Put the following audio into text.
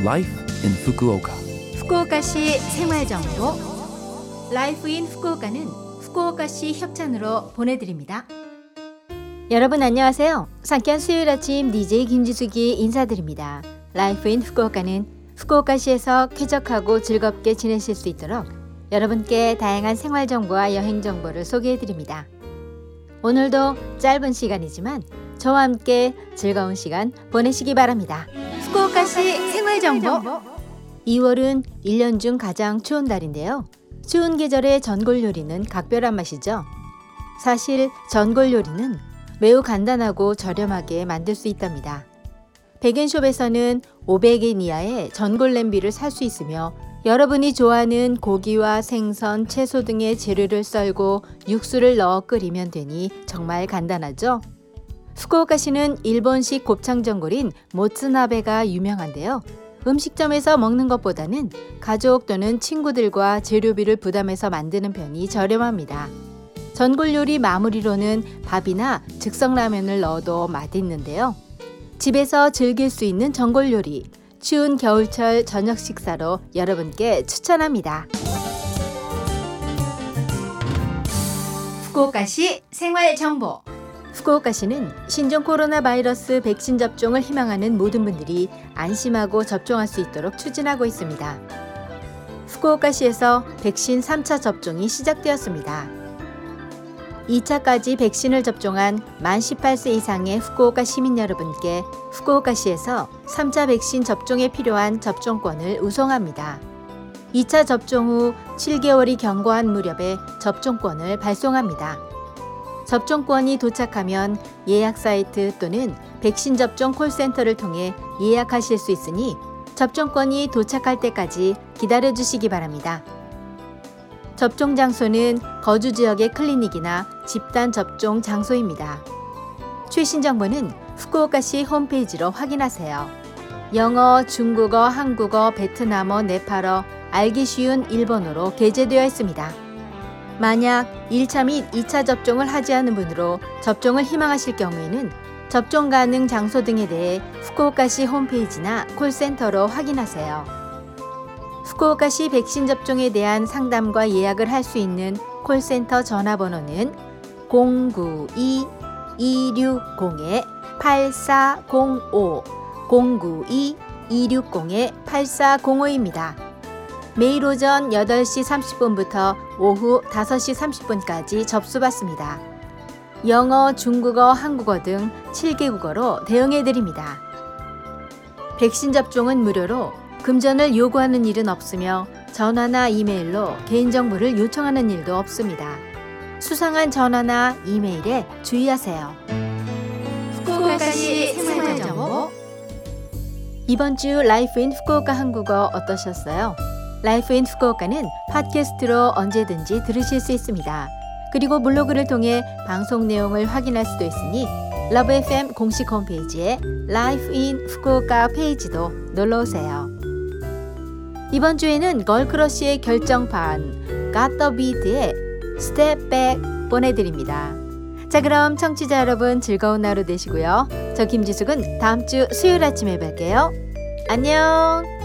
Life in Fukuoka. 후쿠오카시 생활정보 라이프 인 후쿠오카는 후쿠오카시 협찬으로 보내드립니다. 여러분 안녕하세요. 상쾌한 수요일 아침 DJ 김지숙이 인사드립니다. 라이프 인 후쿠오카는 후쿠오카시에서 쾌적하고 즐겁게 지내실 수 있도록 여러분께 다양한 생활정보와 여행정보를 소개해드립니다. 오늘도 짧은 시간이지만 저와 함께 즐거운 시간 보내시기 바랍니다. 후쿠오카시 생활정보 2월은 1년 중 가장 추운 달인데요. 추운 계절의 전골 요리는 각별한 맛이죠. 사실 전골 요리는 매우 간단하고 저렴하게 만들 수 있답니다. 백엔숍에서는 500엔 이하의 전골 냄비를 살 수 있으며 여러분이 좋아하는 고기와 생선, 채소 등의 재료를 썰고 육수를 넣어 끓이면 되니 정말 간단하죠. 후쿠오카시는 일본식 곱창 전골인 모츠나베가 유명한데요. 음식점에서 먹는 것보다는 가족 또는 친구들과 재료비를 부담해서 만드는 편이 저렴합니다. 전골 요리 마무리로는 밥이나 즉석라면을 넣어도 맛있는데요. 집에서 즐길 수 있는 전골 요리, 추운 겨울철 저녁 식사로 여러분께 추천합니다. 후쿠오카시 생활정보 후쿠오카시는 신종 코로나 바이러스 백신 접종을 희망하는 모든 분들이 안심하고 접종할 수 있도록 추진하고 있습니다. 후쿠오카시에서 백신 3차 접종이 시작되었습니다. 2차까지 백신을 접종한 만 18세 이상의 후쿠오카 시민 여러분께 후쿠오카시에서 3차 백신 접종에 필요한 접종권을 우송합니다. 2차 접종 후 7개월이 경과한 무렵에 접종권을 발송합니다. 접종권이 도착하면 예약 사이트 또는 백신 접종 콜센터를 통해 예약하실 수 있으니 접종권이 도착할 때까지 기다려 주시기 바랍니다. 접종 장소는 거주 지역의 클리닉이나 집단 접종 장소입니다. 최신 정보는 후쿠오카시 홈페이지로 확인하세요. 영어, 중국어, 한국어, 베트남어, 네팔어, 알기 쉬운 일본어로 게재되어 있습니다. 만약 1차 및 2차 접종을 하지 않은 분으로 접종을 희망하실 경우에는 접종 가능 장소 등에 대해 후쿠오카시 홈페이지나 콜센터로 확인하세요. 후쿠오카시 백신 접종에 대한 상담과 예약을 할 수 있는 콜센터 전화번호는 092-260-8405, 092-260-8405입니다. 매일 오전 8시 30분부터 오후 5시 30분까지 접수받습니다. 영어, 중국어, 한국어 등 7개국어로 대응해드립니다. 백신 접종은 무료로 금전을 요구하는 일은 없으며 전화나 이메일로 개인정보를 요청하는 일도 없습니다. 수상한 전화나 이메일에 주의하세요. 후쿠오카시 생활정보 이번 주 라이프 인 후쿠오카 한국어 어떠셨어요? 라이프 인 후쿠오카는 팟캐스트로 언제든지 들으실 수 있습니다. 그리고 블로그를 통해 방송 내용을 확인할 수도 있으니 러브 FM 공식 홈페이지에 라이프 인 후쿠오카 페이지도 놀러오세요. 이번 주에는 걸크러쉬의 결정판 Got the Beat의 Step Back 보내드립니다. 자, 그럼 청취자 여러분 즐거운 하루 되시고요. 저 김지숙은 다음 주 수요일 아침에 뵐게요. 안녕.